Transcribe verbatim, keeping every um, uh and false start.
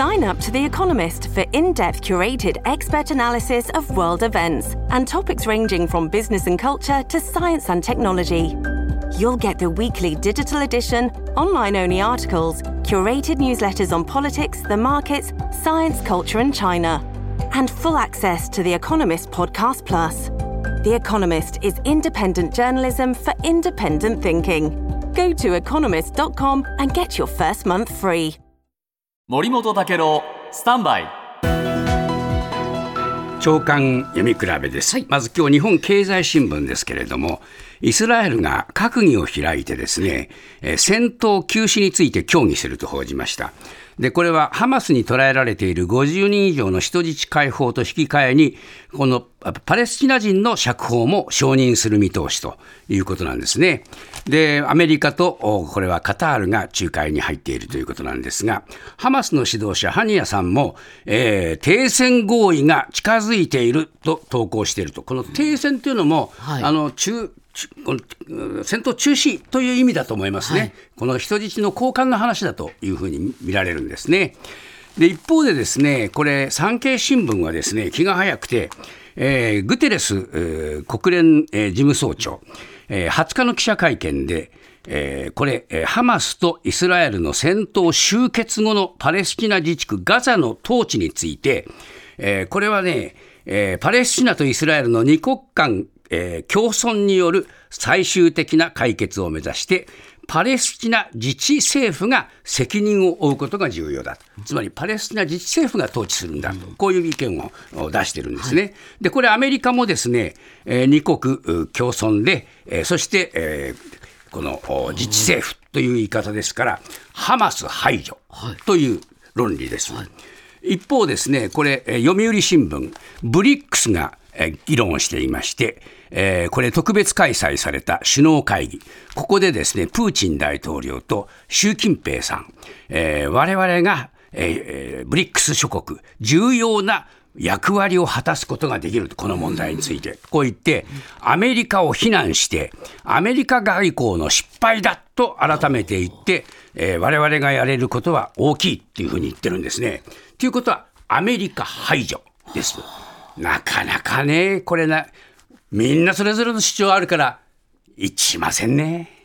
Sign up to The Economist for in-depth curated expert analysis of world events and topics ranging from business and culture to science and technology. You'll get the weekly digital edition, online-only articles, curated newsletters on politics, the markets, science, culture and China, and full access to The Economist Podcast Plus. The Economist is independent journalism for independent thinking. Go to economist dot com and get your first month free. 森本武郎スタンバイ朝刊読み比べです、はい、まず今日日本経済新聞ですけれども、イスラエルが閣議を開いてですね、えー、戦闘休止について協議すると報じました。でこれはハマスに捕らえられているごじゅうにん以上の人質解放と引き換えに、このパレスチナ人の釈放も承認する見通しということなんですね。でアメリカとこれはカタールが仲介に入っているということなんですが、ハマスの指導者ハニヤさんも、えー、停戦合意が近づいていると投稿していると。この停戦というのも、はい、あの中この戦闘中止という意味だと思いますね、はい、この人質の交換の話だというふうに見られるんですね。で一方でですね、これ産経新聞はですね気が早くて、えー、グテレス、えー、国連、えー、事務総長、えー、はつかの記者会見で、えー、これ、えー、ハマスとイスラエルの戦闘終結後のパレスチナ自治区ガザの統治について、えー、これはね、えー、パレスチナとイスラエルの二国間えー、共存による最終的な解決を目指してパレスチナ自治政府が責任を負うことが重要だと。つまりパレスチナ自治政府が統治するんだと、こういう意見を出してるんですね、はい、でこれアメリカもですね、えー、二国共存で、えー、そして、えー、この自治政府という言い方ですからハマス排除という論理です、はい、一方ですね、これ読売新聞ブリックスが議論をしていまして、えー、これ特別開催された首脳会議、ここでですねプーチン大統領と習近平さん、えー、我々が、えー、ブリックス諸国重要な役割を果たすことができると、この問題についてこう言ってアメリカを非難してアメリカ外交の失敗だと改めて言って、えー、我々がやれることは大きいっていうふうに言ってるんですね。ということはアメリカ排除です。なかなかね、これなみんなそれぞれの主張あるから一致しませんね。